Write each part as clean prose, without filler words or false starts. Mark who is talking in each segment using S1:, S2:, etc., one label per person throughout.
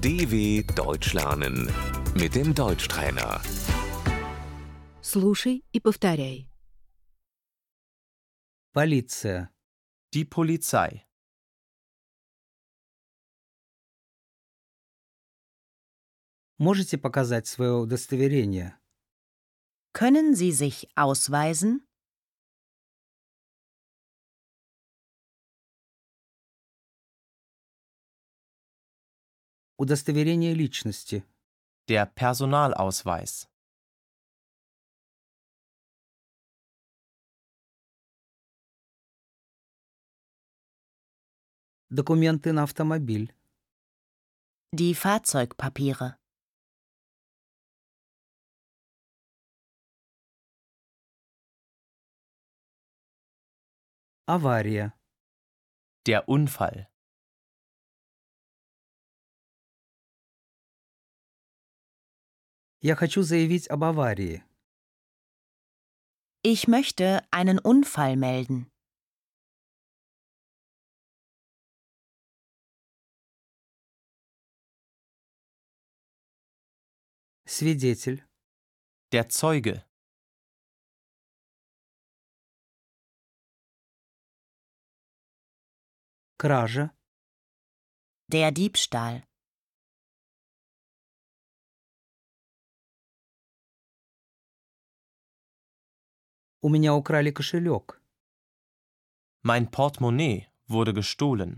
S1: DW Deutsch lernen mit dem Deutschtrainer.
S2: Слушай и повторяй.
S3: Полиция.
S4: Die Polizei.
S3: Можете показать свое удостоверение?
S5: Können Sie sich ausweisen?
S3: Удостоверение личности.
S4: Der Personalausweis.
S3: Документы на автомобиль.
S5: Die Fahrzeugpapiere.
S3: Авария.
S4: Der Unfall.
S3: Я хочу заявить об аварии.
S5: Ich möchte einen Unfall melden.
S3: Свидетель.
S4: Der Zeuge.
S3: Кража.
S5: Der Diebstahl.
S3: У меня украли кошелек.
S4: Mein Portemonnaie wurde gestohlen.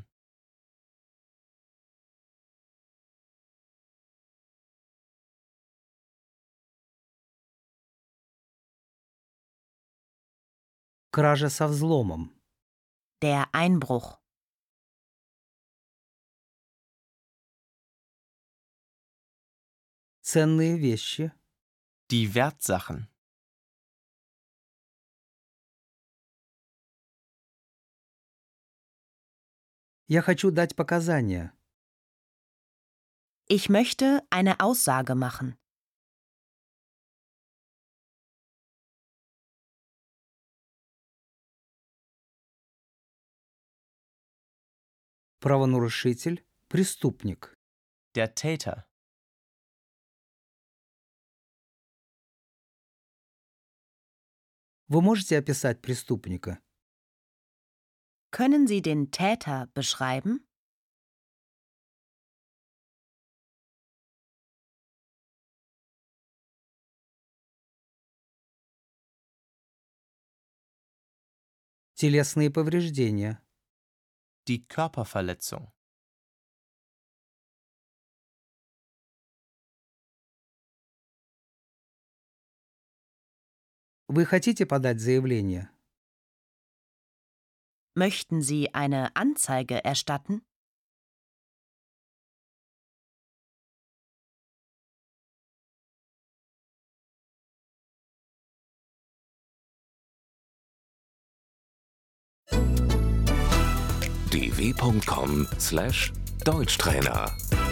S3: Кража со взломом.
S5: Der Einbruch.
S3: Ценные вещи.
S4: Die Wertsachen.
S3: Я хочу дать показания.
S5: Ich möchte eine Aussage machen.
S3: Правонарушитель. Преступник.
S4: Der Täter.
S3: Вы можете описать преступника?
S5: Können Sie den Täter beschreiben?
S3: Телесные повреждения.
S4: Die Körperverletzung.
S3: Вы хотите подать заявление?
S5: Möchten Sie eine Anzeige erstatten?
S1: dw.com/Deutschtrainer